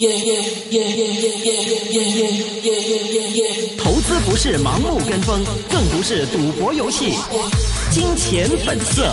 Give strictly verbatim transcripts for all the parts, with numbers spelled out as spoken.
投資不是盲目跟風，更不是賭博遊戲。金錢本色。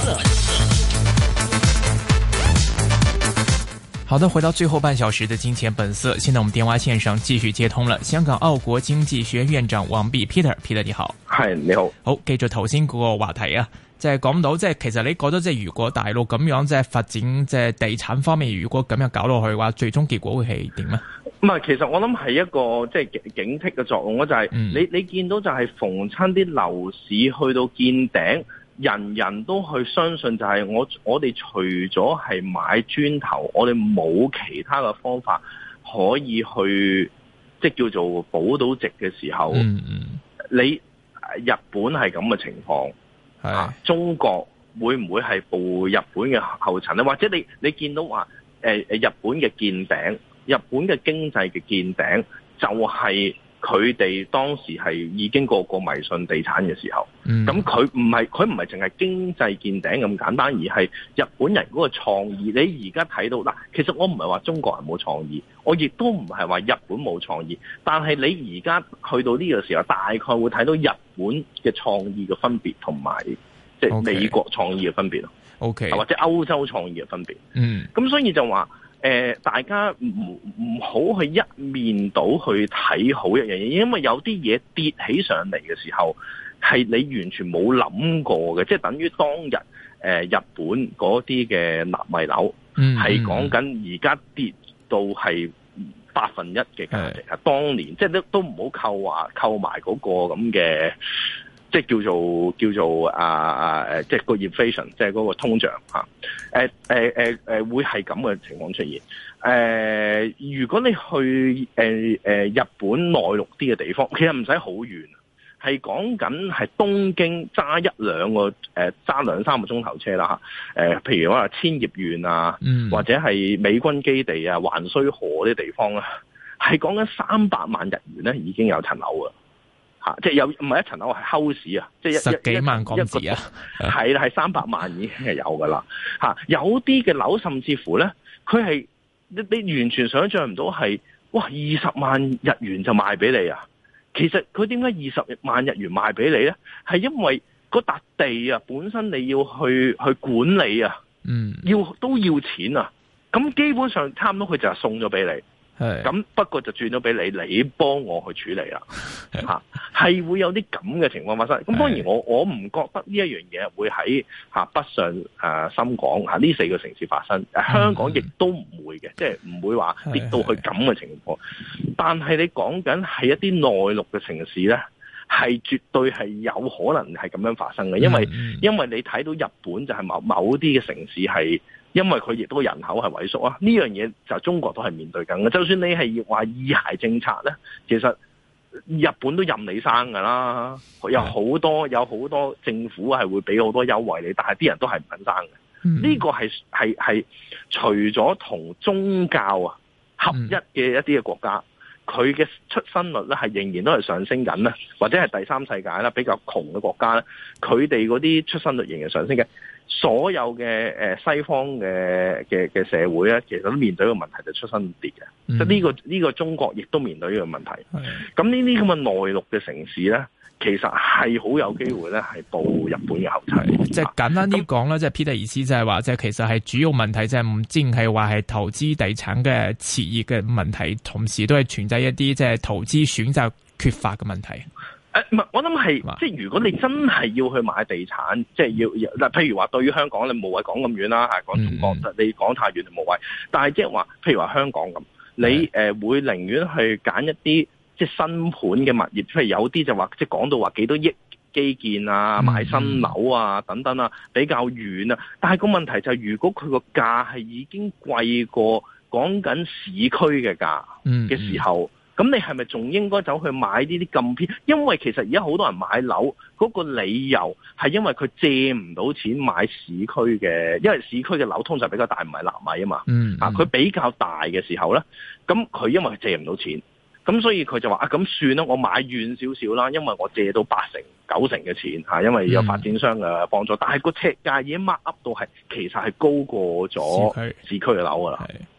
好的，回到最後半小時的金錢本色，現在我們電話線上繼續接通了香港澳國經濟學院院長王弼 Peter，Peter 你好。 係你好。 好，繼續頭先嗰個話題啊，即係講到即係其實你覺得即係如果大陸咁樣即係發展即係地產方面，如果咁樣搞落去嘅話，最終結果會係點呢？ 唔係，其實我諗係一個即係警惕嘅作用咯，就係、是嗯、你你見到就係逢親啲樓市去到見頂，人人都去相信就係我我哋除咗係買磚頭，我哋冇其他嘅方法可以去即係叫做保到值嘅時候，嗯嗯、你日本係咁嘅情況，啊，中國會唔會係步日本嘅後塵咧？或者你你見到話誒誒日本嘅見頂？日本嘅經濟嘅見頂，就係佢哋當時係已經個個迷信地產嘅時候。咁佢唔係佢唔係淨係經濟見頂咁簡單，而係日本人嗰個創意。你而家睇到嗱，其實我唔係話中國人冇創意，我亦都唔係話日本冇創意。但係你而家去到呢個時候，大概會睇到日本嘅創意嘅分別，同埋即係美國創意嘅分別咯。 OK， 或者歐洲創意嘅分別。 嗯， 咁所以就話。誒、呃，大家唔唔好去一面倒去睇好一樣嘢，因為有啲嘢跌起上嚟嘅時候，係你完全冇諗過嘅，即係等於當日誒、呃、日本嗰啲嘅納米樓，係講緊而家跌到係百分一嘅價值啊！當年即係都都唔好扣話扣埋嗰個咁嘅。即係叫做叫做啊啊誒，即係個 inflation，即係嗰個通脹嚇。誒誒誒誒，會係咁嘅情況出現。誒、呃，如果你去誒誒、呃、日本內陸啲嘅地方，其實唔使好遠，係講緊係東京揸一兩個誒揸兩三個鐘頭車啦嚇。誒、呃，譬如話千葉縣啊，嗯、或者係美軍基地啊、橫須賀啲地方啊，係講緊三百萬日元咧，已經有層樓啊！吓，即係有唔係一層樓係 house 啊，即係十幾萬港紙啊， 係啦，係三百萬已經係有噶啦。吓，有啲嘅樓甚至乎咧，佢係你你完全想象唔到係，哇，二十萬日元就賣俾你啊！其實佢點解二十萬日元賣俾你咧？係因為嗰笪地啊，本身你要去去管理啊，嗯，要都要錢啊，咁基本上差唔多佢就係送咗俾你。咁不過就轉咗俾你，你幫我去處理啦，吓係會有啲咁嘅情況發生。咁當然我我唔覺得呢一樣嘢會喺吓北上誒深港吓呢四個城市發生，香港亦都唔會嘅，即係唔會話跌到去咁嘅情況。但係你講緊係一啲內陸嘅城市咧，係絕對係有可能係咁樣發生嘅，因為因為你睇到日本就係某某啲嘅城市係。因為佢亦都人口係萎縮啊，呢樣嘢就中國都係面對緊嘅。就算你係話二孩政策咧，其實日本都任你生噶啦，有好多有好多政府係會俾好多優惠你，但係啲人都係唔肯生嘅。呢、嗯、個係係係除咗同宗教啊合一嘅一啲嘅國家，佢嘅出生率咧係仍然都係上升緊咧，或者係第三世界啦比較窮嘅國家咧，佢哋嗰啲出生率仍然上升嘅。所有嘅誒西方嘅嘅嘅社會咧，其實都面對一個問題，就出生跌嘅。即係呢個呢個中國亦都面對呢個問題。咁呢啲咁嘅內陸嘅城市咧，其實係好有機會咧，係步日本嘅後塵。即係簡單啲講啦，即係 Peter 意思就係話，即係其實係主要問題，即係唔淨係話係投資地產嘅熾熱嘅問題，同時都係存在一啲即係投資選擇缺乏嘅問題。誒，唔係，我諗係，即係如果你真係要去買地產，即係要嗱，譬如話對於香港，你無謂講咁遠啦，係講中國，嗯、你講太遠就無謂。但係即係話，譬如話香港咁，你誒、呃、會寧願去揀一啲即係新盤嘅物業，譬如有啲就話即係講到話幾多億基建啊、買新樓啊等等啊，比較遠啊。但係個問題就係，如果佢個價係已經貴過講緊市區嘅價嘅時候。嗯嗯咁你係咪仲應該走去買呢啲咁偏？因為其實而家好多人買樓嗰個理由係因為佢借唔到錢買市區嘅，因為市區嘅樓通常比較大，唔係納米啊嘛。嗯，啊，佢比較大嘅時候咧，咁佢因為佢借唔到錢，咁所以佢就話啊，咁算啦，我買遠少少啦，因為我借到八成、九成嘅錢嚇，因為有發展商嘅幫助。嗯、但係個尺價已經 mark up 到係其實係高過咗市區嘅樓噶啦。咁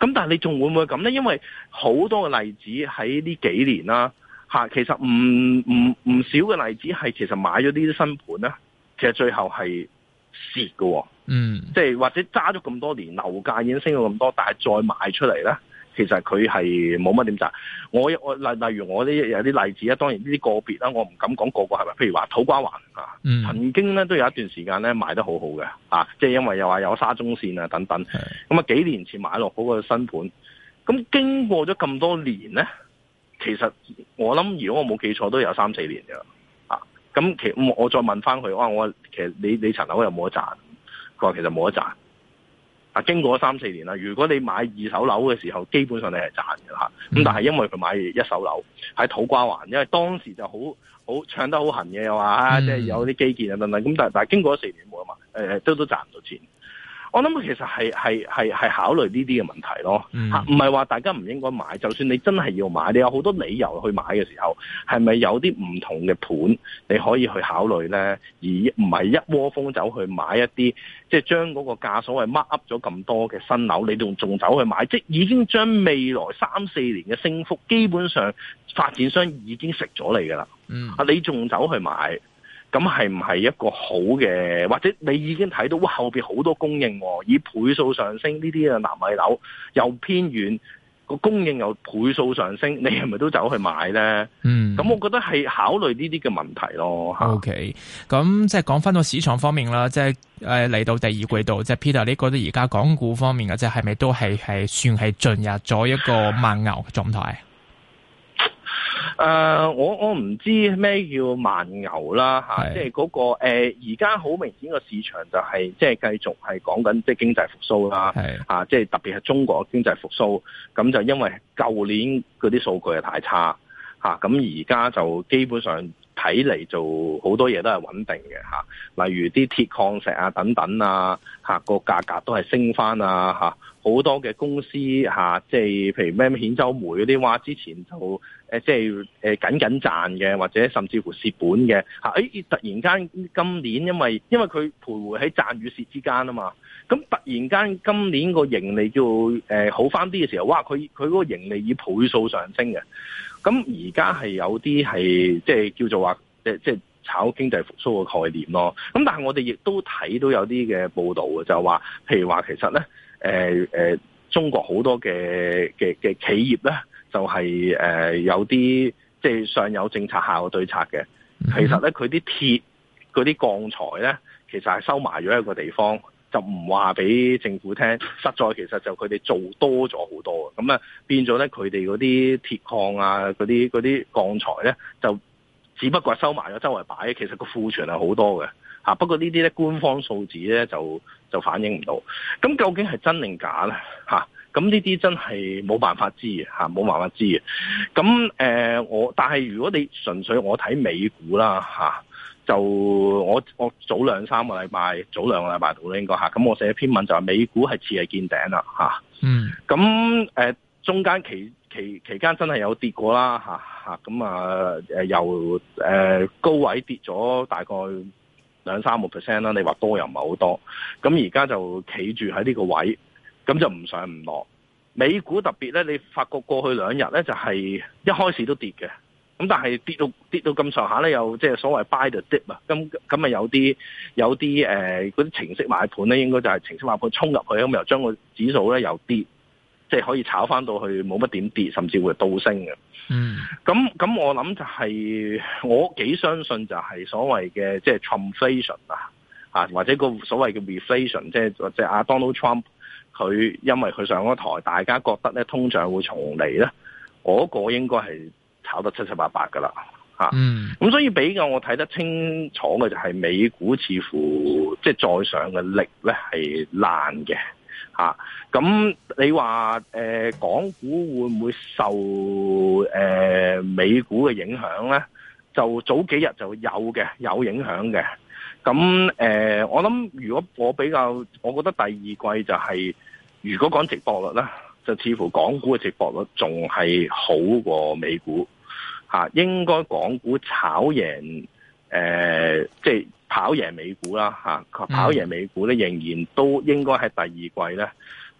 咁但係你仲會唔會咁咧？因為好多嘅例子喺呢幾年啦，嚇，其實唔唔唔少嘅例子係其實買咗呢啲新盤咧，其實最後係蝕嘅。嗯，即係或者揸咗咁多年，樓價已經升咗咁多，但係再賣出嚟咧，其實佢係冇乜點賺。我我例例如我啲有啲例子啊，當然呢啲個別啦，我唔敢講個個係咪。譬如話土瓜灣啊，嗯、曾經咧都有一段時間咧賣得好好嘅啊，即係因為又話有沙中線啊等等。咁啊幾年前買落嗰個新盤，咁經過咗咁多年咧，其實我諗如果我冇記錯都有三四年嘅啊。咁其我我再問翻佢，哇！我其實你你層樓有冇得賺？佢話其實冇得賺。啊，經過咗三四年啦，如果你買二手樓嘅時候，基本上你係賺嘅嚇。咁但係因為佢買一手樓喺土瓜灣，因為當時就好好唱得好痕嘅，又話啊，即係有啲基建啊等等。咁但係但係經過咗四年冇啊嘛，誒都都賺唔到錢。我諗其實係係係係考慮呢啲嘅問題咯，嚇唔係話大家唔應該買。就算你真係要買，你有好多理由去買嘅時候，係咪有啲唔同嘅盤你可以去考慮咧？而唔係一窩蜂走去買一啲即係將嗰個價所謂 mark up 咗咁多嘅新樓，你仲仲走去買，即係已經將未來三四年嘅升幅基本上發展商已經食咗你㗎啦。嗯，啊你仲走去買？咁係唔係一個好嘅？或者你已經睇到哇後邊好多供應，以倍數上升，呢啲嘅納米樓又偏遠，個供應又倍數上升，你係咪都走去買咧？嗯，咁我覺得係考慮呢啲嘅問題咯。 OK，咁即係講翻到市場方面啦，即係誒嚟到第二季度，即係 Peter，你覺得而家港股方面嘅即係係咪都係係算係進入咗一個慢牛嘅狀態？ 誒、uh，我我唔知咩叫慢牛啦嚇，即係嗰個誒而家好明顯個市場就係即係繼續係講緊即係經濟復甦啦，嚇，即係特別係中國經濟復甦，咁就因為舊年嗰啲數據係太差嚇，咁而家就基本上睇嚟就好多嘢都係穩定嘅嚇，例如啲鐵礦石啊等等啊嚇，個價格都係升翻啊嚇，好多嘅公司嚇，即係譬如咩咩兗州煤嗰啲話，之前就誒即係誒緊緊賺嘅，或者甚至乎蝕本嘅嚇，誒突然間今年因為因為佢徘徊喺賺與蝕之間啊嘛，咁突然間今年個盈利叫誒好翻啲嘅時候，哇！佢佢嗰個盈利以倍數上升嘅，咁而家係有啲係即係叫做話誒即係炒經濟復甦嘅概念咯。咁但係我哋亦都睇到有啲嘅報導嘅，就話譬如話其實咧誒誒中國好多嘅嘅嘅企業咧。就係、是、誒、呃、有啲即係上有政策下有對策嘅，其實咧佢啲鐵嗰啲鋼材咧，其實係收埋咗一個地方，就唔話俾政府聽。實在其實就佢哋做多咗好多嘅，咁啊變咗咧佢哋嗰啲鐵礦啊嗰啲嗰啲鋼材咧，就只不過係收埋咗周圍擺，其實個庫存係好多嘅嚇。不過呢啲咧官方數字咧就就反映唔到。咁究竟係真定假咧嚇？咁呢啲真係冇辦法知嘅嚇，冇辦法知嘅。咁誒、呃，我但係如果你純粹我睇美股啦嚇，就我我早兩三個禮拜，早兩個禮拜到啦應該嚇。咁我寫一篇文就係美股係似係見頂啦嚇。嗯。咁誒、呃，中間期期期間真係有跌過啦嚇嚇。咁啊誒由誒高位跌咗大概兩三個 percent 啦。你話多又唔係好多。咁而家就企住喺呢個位。咁就唔上唔落，美股特別咧，你發覺過去兩日咧就係一開始都跌嘅，咁但係跌到跌到咁上下咧，又即係所謂 buy the dip 啊，咁咁咪有啲有啲誒嗰啲程式買盤咧，應該就係程式買盤衝入去，咁又將個指數咧又跌，即係可以炒翻到去冇乜點跌，甚至會倒升嘅。嗯，咁咁我諗就係我幾相信就係所謂嘅即係 Trumpflation 啊，啊或者個所謂嘅 reflation，即係即係阿 Donald Trump。佢因為佢上咗台，大家覺得咧通脹會重嚟咧，嗰、那個應該係炒得七七八八噶啦嚇。咁、嗯、所以比較我睇得清楚嘅就係美股似乎即係再上嘅力咧係爛嘅嚇。咁、啊、你話誒、呃、港股會唔會受誒、呃、美股嘅影響咧？就早幾日就有嘅，有影響嘅。咁誒、呃，我諗如果我比較，我覺得第二季就係、是、如果講值博率咧，就似乎港股嘅值博率仲係好過美股嚇、啊，應該港股炒贏誒，即、呃、係、就是、跑贏美股啦嚇、啊，跑贏美股咧仍然都應該喺第二季咧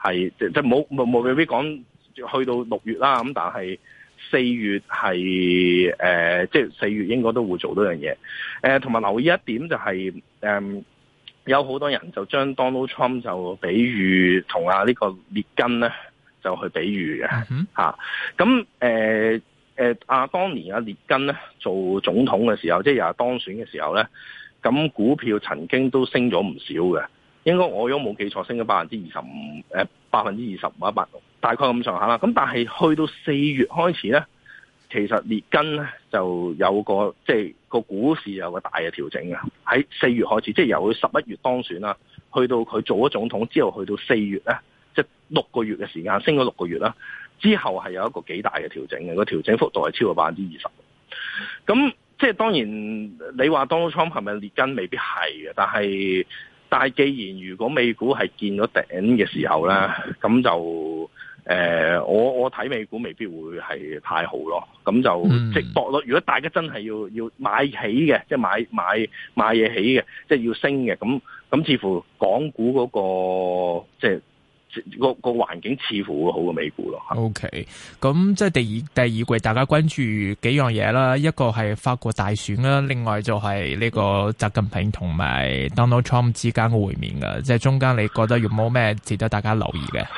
係即即冇冇冇未必講去到六月啦，咁但係四月係誒、呃、即係四月應該都會做到樣嘢。誒同埋留意一點就係、是、誒、呃、有好多人就將 Donald Trump 就比喻同啊呢個列根咧就去比喻嘅嚇。咁誒誒啊當年啊列根咧做總統嘅時候，即係又係當選嘅時候咧，咁股票曾經都升咗唔少嘅。應該我如果冇記錯，升咗百分之二十五，誒百分之二十五一百，大概咁上下啦。咁但係去到四月開始咧，其實列根咧就有個即係個股市有個大嘅調整嘅。喺四月開始，即係由佢十一月當選啦，去到佢做咗總統之後，去到四月咧，即係六個月嘅時間，升咗六個月啦。之後係有一個幾大嘅調整嘅，個調整幅度係超過百分之二十。咁即係當然你話 Donald Trump 係咪列根，未必係嘅，但係。但係，既然如果美股係見咗頂嘅時候咧，咁就誒、呃，我我睇美股未必會係太好咯。咁就、嗯、即博咯。如果大家真係要要買起嘅，即係買買買嘢起嘅，即係要升嘅，咁咁似乎港股嗰、嗰個即係。個個環境似乎會好過美股咯。 O K， 咁即係第二第二季，大家關注幾樣嘢啦。一個係法國大選啦，另外就係呢個習近平同埋 Donald Trump 之間嘅會面嘅。即係中間你覺得有冇咩值得大家留意嘅？誒、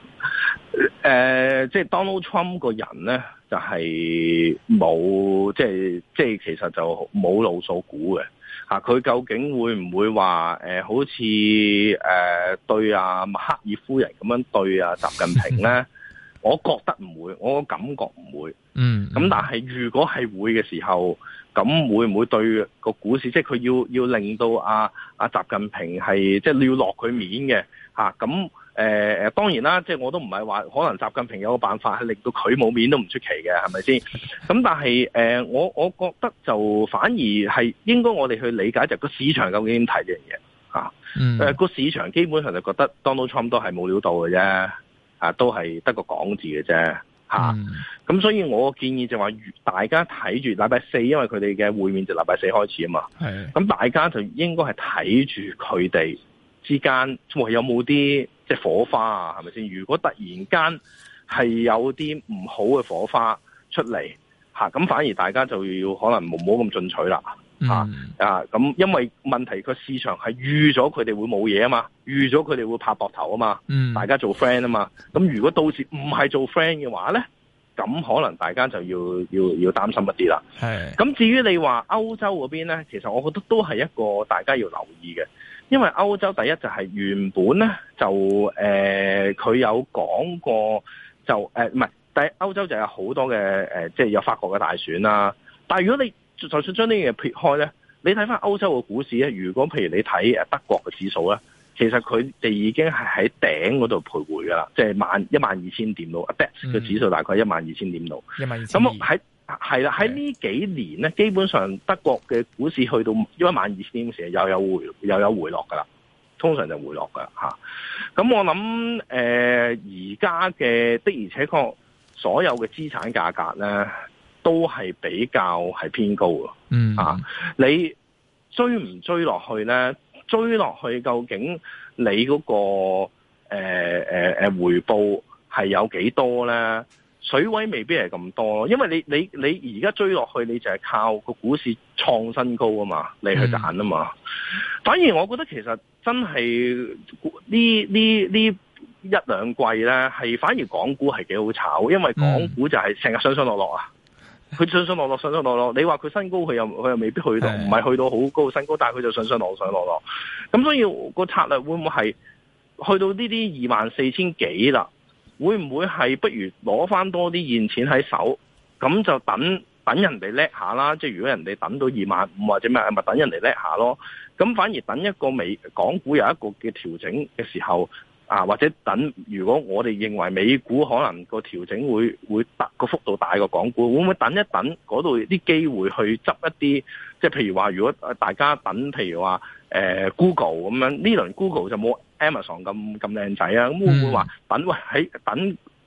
呃，即係 Donald Trump 個人咧，就係冇即係即係其實就冇路數估嘅。啊！佢究竟會唔會話誒、呃，好似誒、呃、對阿默克爾夫人咁樣對阿習近平咧？我覺得唔會，我感覺唔會。嗯。咁但係如果係會嘅時候，咁會唔會對個股市，即係佢要要令到阿阿習近平係即係要落佢面嘅嚇？咁、啊。誒、呃、當然啦，即係我都唔係話可能習近平有個辦法係令到佢冇面都唔出奇嘅，係咪先？咁但係誒、呃，我我覺得就反而係應該我哋去理解就個市場究竟點睇呢樣嘢嚇？誒、嗯、個、呃、市場基本上就覺得 Donald Trump 都係冇料到嘅啫，啊都係得個講字嘅啫嚇。咁、嗯啊、所以我建議就話，大家睇住禮拜四，因為佢哋嘅會面就禮拜四開始啊嘛。係。咁大家就應該係睇住佢哋之間，喂有冇啲即係火花啊，係咪先？如果突然間係有啲唔好嘅火花出嚟嚇，咁反而大家就要可能唔好咁進取啦嚇啊！咁因為問題個市場係預咗佢哋會冇嘢啊嘛，預咗佢哋會拍膊頭啊嘛，大家做 friend 啊嘛。咁如果到時唔係做 friend 嘅話咧，咁可能大家就要要要擔心一啲啦。係。咁至於你話歐洲嗰邊咧，其實我覺得都係一個大家要留意嘅。因為歐洲第一就係原本咧就誒佢、呃、有講過就誒唔係，但係歐洲就有好多嘅誒、呃，即係有法國嘅大選啦。但係如果你就算將呢樣嘢撇開咧，你睇翻歐洲嘅股市咧，如果譬如你睇誒德國嘅指數咧，其實佢哋已經係喺頂嗰度徘徊噶啦，即係萬一萬二千點度，啊 D A X 嘅指數大概一萬二千點度，一萬二千。咁喺係啦，喺呢幾年咧，基本上德國嘅股市去到一萬二千點嘅時候，又有回又有回落噶啦，通常就回落噶吓。咁我諗誒，而家嘅的而且確，所有嘅資產價格咧，都係比較係偏高嘅。嗯啊，你追唔追落去咧？追落去究竟你嗰、那個誒誒誒回報係有幾多咧？水位未必係咁多，因為你你你而家追落去，你就係靠個股市創新高啊嘛，你去揀啊嘛。反而我覺得其實真係呢呢呢一兩季咧，係反而港股係幾好炒，因為港股就係成日上上落落啊。佢上上落落上上落落，你話佢新高，佢又佢又未必去到，唔係去到好高新高，但係佢就上上落上落落。咁所以個策略會唔會係去到呢啲二萬四千幾啦？會唔會係不如攞翻多啲現錢喺手，咁就等等人哋叻下啦。即係如果人哋等到二萬五或者咩，咪等人哋叻下咯。咁反而等一個美港股有一個嘅調整嘅時候，啊或者等如果我哋認為美股可能個調整會會大個幅度大過港股，會唔會等一等嗰度啲機會去執一啲？即係譬如話，如果大家等，譬如話誒、呃、Google 咁樣，呢輪 Google 就冇 Amazon 咁咁靚仔啊，咁會唔會話等喂喺等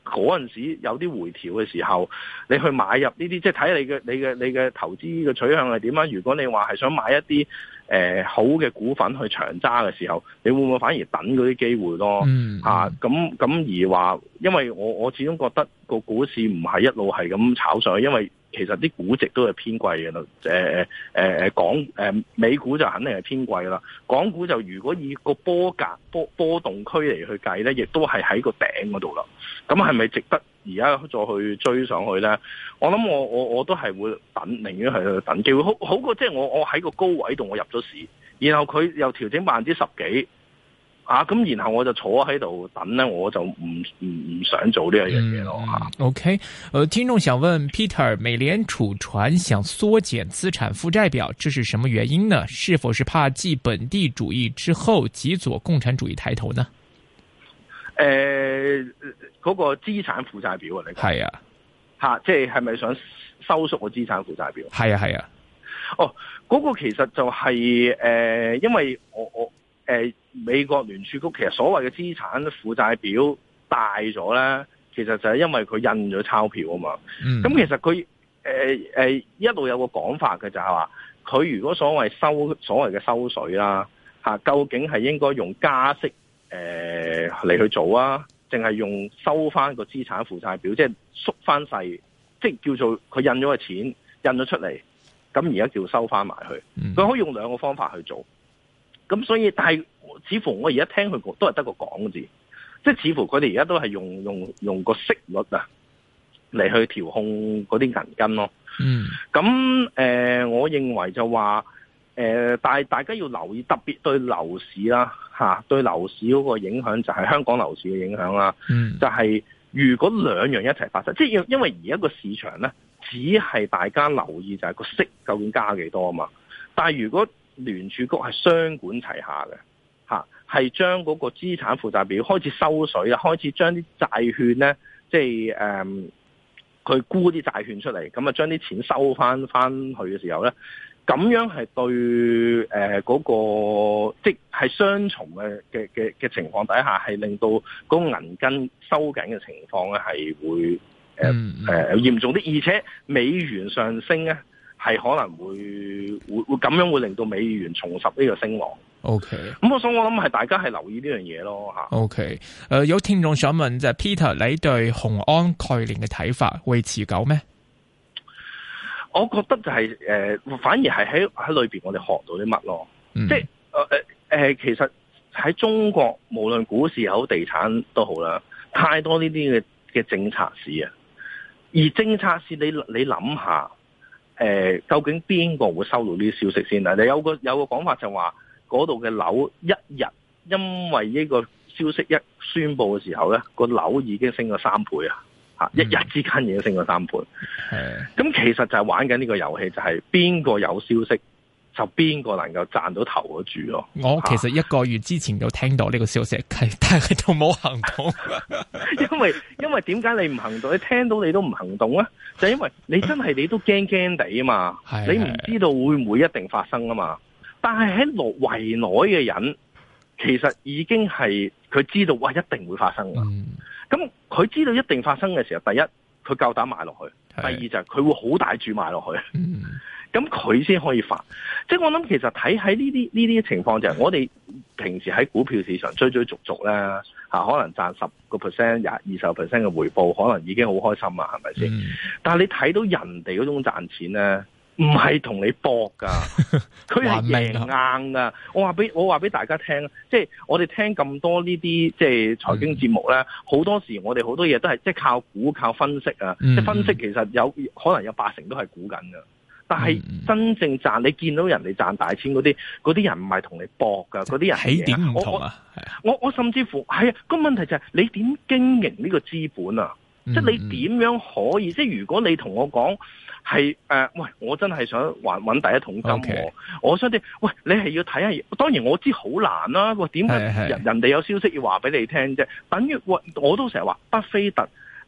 嗰陣時有啲回調嘅時候，你去買入呢啲，即係睇你嘅你嘅你嘅投資嘅取向係點啊？如果你話係想買一啲誒、呃、好嘅股份去長揸嘅時候，你會唔會反而等嗰啲機會咯？ 嗯， 嚇咁咁而話，因為我我始終覺得個股市唔係一路係咁炒上去，因為其實啲估值都係偏貴嘅啦。誒誒誒港誒、呃、美股就肯定係偏貴啦，港股就如果以個波格波波動區嚟去計咧，亦都係喺個頂嗰度啦。咁係咪值得而家再去追上去咧？我諗我我我都係會等，寧願係去等機會，好好過即係我我喺個高位度我入咗市，然後佢又調整百分之十幾。啊，咁然後我就坐喺度等呢，我就唔唔唔想做呢一樣嘢咯吓。 OK，呃，聽眾想問 Peter， 美聯儲傳想縮減資產負債表，這是什麼原因呢？是否是怕繼本地主義之後，極左共產主義抬頭呢？ 誒、呃，嗰、那個資產負債表啊，你講係啊，吓，即係係咪想收縮個資產負債表？係啊係啊。哦，嗰、那個其實就係、是、誒、呃，因為我我。誒、呃，美國聯儲局其實所謂嘅資產負債表大咗咧，其實就係因為佢印咗鈔票啊嘛。咁、嗯、其實佢誒誒一路有個講法嘅就係話，佢如果所謂收所謂嘅收水啦嚇、啊，究竟係應該用加息誒嚟、呃、去做啊，定係用收翻個資產負債表，即係縮翻細，即係叫做佢印咗個錢印咗出嚟，咁而家叫收翻埋去。佢、嗯、可以用兩個方法去做。咁所以，但係似乎我而家聽佢都係得個講字，即係似乎佢哋而家都係用用用個息率啊嚟去調控嗰啲銀根咯。嗯。咁誒、呃，我認為就話誒、呃，但係大家要留意，特別對樓市啦嚇、啊，對樓市嗰個影響就係香港樓市嘅影響啦。嗯。就係如果兩樣一齊發生，即係因為而家個市場咧，只係大家留意就係個息究竟加幾多啊嘛。但係如果聯儲局係雙管齊下嘅，嚇係將嗰個資產負債表開始收水啦，開始將啲債券咧，即係誒佢沽啲債券出嚟，咁啊將啲錢收翻翻去嘅時候咧，咁樣係對誒嗰、呃嗰個即係雙重嘅嘅嘅嘅情況底下，係令到嗰個銀根收緊嘅情況咧係會誒誒嚴重啲，而且美元上升咧。係可能會會會咁樣會令到美元重拾呢個升浪。O K， 咁我想我諗係大家係留意呢樣嘢咯吓。O K， 誒有聽眾想問就係 Peter，你對雄安概念嘅睇法會持久咩？我覺得就係、是、誒、呃，反而係喺喺裏邊我哋學到啲乜咯。嗯、即係誒誒誒，其實喺中國無論股市又好地產都好啦，太多呢啲嘅嘅政策市啊，而政策市你你諗下。誒、呃，究竟邊個會收到呢啲消息先啊？你有個有個講法就話，嗰度嘅樓一日因為呢個消息一宣佈嘅時候咧，個樓已經升咗三倍啊！嚇、嗯，一日之間已經升咗三倍。係。咁其實就係玩緊呢個遊戲，就係邊個有消息，就邊個能夠賺到頭嗰注咯。我其實一個月之前就聽到呢個消息，但係都冇行動。因為因為點解你唔行動？你聽到你都唔行動咧？就因為你真係你都驚驚地啊嘛，你唔知道會唔會一定發生啊嘛。但係喺內圍內嘅人，其實已經係佢知道哇一定會發生噶。咁、嗯、佢知道一定發生嘅時候，第一佢夠膽買落去，第二就係佢會好大注買落去。咁佢先可以發。即係我諗，其實睇喺呢啲呢啲情況就係我哋平時喺股票市場追追逐逐咧，吓可能賺十個 percent、廿二十個 percent 嘅回報，可能已經好開心啊，係咪先？但係你睇到人哋嗰種賺錢咧，唔係同你搏噶，佢係贏硬噶。我話俾我話俾大家聽，即係我哋聽咁多呢啲即係財經節目咧，好、嗯、多時我哋好多嘢都係即係靠估、靠分析啊。嗯、即係分析其實有可能有八成都係估緊噶。但係真正賺，你見到人哋賺大錢嗰啲，嗰啲人唔係同你搏噶，嗰啲人起點唔同啊！我我，我甚至乎係啊，個問題就係你點經營呢個資本啊？嗯、即係你點樣可以？即係如果你同我講係誒，喂，我真係想還搵第一桶金喎、okay. 我想啲，喂，你係要睇下，當然我知好難啦、啊。喂，點解人人哋有消息要話俾你聽啫？等於我我都成日話，巴菲特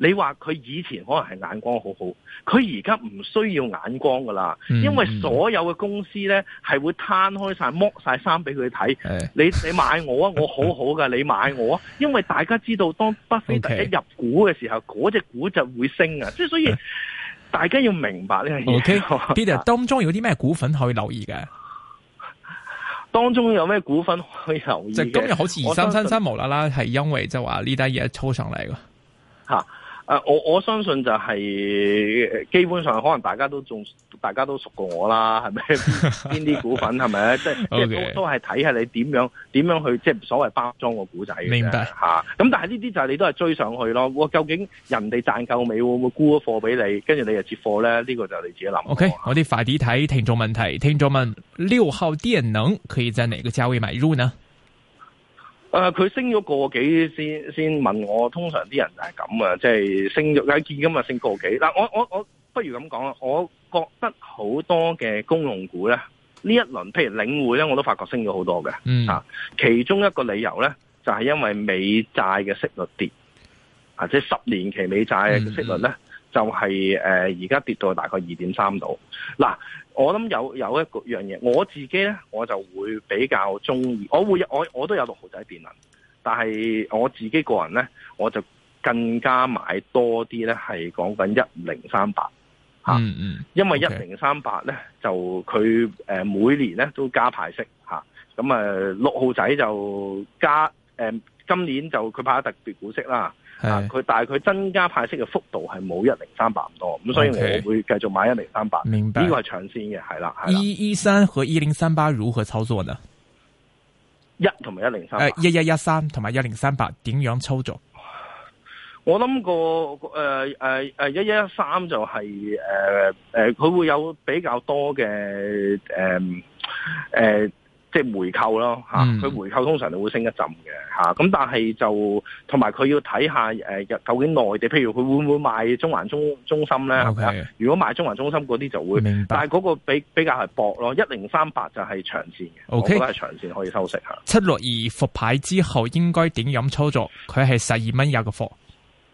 你話佢以前可能係眼光好好，佢而家唔需要眼光噶啦， 嗯、 因為所有嘅公司咧係會攤開晒剝晒衫俾佢睇。你你買我啊，我好好噶，你買我啊，因為大家知道當巴菲特一入股嘅時候，嗰隻股就會升啊，即係所以大家要明白呢樣嘢。 OK，Peter 當中有啲咩股份可以留意嘅？ 當中有咩股份可以留意嘅？ 即係今日好似二三三三無啦啦，係因為就話呢單嘢抽上嚟嘅。 吓，誒，我我相信就係基本上可能大家都仲大家都熟過我啦，係咪？邊啲股份係咪？即係即係都都係睇下你點樣點樣去即係所謂包裝個股仔嘅。明白吓。咁但係呢啲就係你都係追上去咯。哇，究竟人哋賺夠未？會唔會沽咗貨俾你？跟住你就接貨咧？呢、這個就你自己諗。 OK，我哋快啲睇聽眾問題。聽眾問：六號電能可以在哪個價位買入呢？ 誒、呃，佢升咗個幾先先問我，通常啲人就係咁啊，即係升咗，見今日升個幾。嗱，我我我不如咁講啦，我覺得好多嘅公用股咧，呢一輪譬如領匯咧，我都發覺升咗好多嘅。嗯，啊，其中一個理由咧，就係、是、因為美債嘅息率跌，啊，即係十年期美債嘅息率咧，嗯、就係誒而家跌到大概二點三度。嗱。我諗有有一個樣嘢，我自己咧我就會比較中意，我會我我都有六號仔電能，但係我自己個人咧，我就更加買多啲咧，係講緊一零三八吓，嗯嗯，因為一零三八咧就佢誒每年咧都加派息吓，咁啊六號仔就加誒、呃、今年就佢派咗特別股息啦。啊！佢但係佢增加派息嘅幅度係冇一零三八咁多，咁所以我會繼續買一零三八。明白，呢個係長線嘅，係啦。 一一三和一零三八如何操作呢？ 一同埋一零三八， 誒，一一一三同埋一零三八點樣操作？ 我諗個誒誒誒一一一三就係誒誒，佢會有比較多嘅誒誒。呃呃即係回購咯嚇，佢、嗯、回購通常都會升一陣嘅嚇，咁但係就同埋佢要睇下誒，究竟內地譬如佢會唔會賣中環中中心咧？係咪啊？如果賣中環中心嗰啲就會，明白，但係嗰個比比較係薄咯，一零三八就係長線嘅，okay, 我覺得係長線可以收息嚇。 七六二復牌之後應該點樣操作？佢係十二蚊一個貨。誒、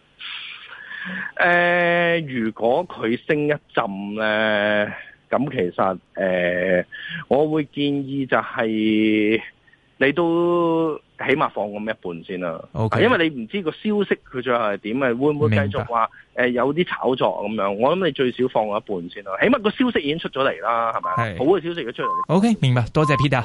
呃，如果佢升一陣咧？咁其實誒、呃，我會建議就係你都起碼放咁一半先啦。Okay. 因為你唔知個消息佢最後係點啊，會唔會繼續話誒、呃、有啲炒作咁樣？我諗你最少放一半先啦。起碼個消息已經出咗嚟啦，係咪？好嘅消息已經出嚟。 OK，明白。多謝 Peter。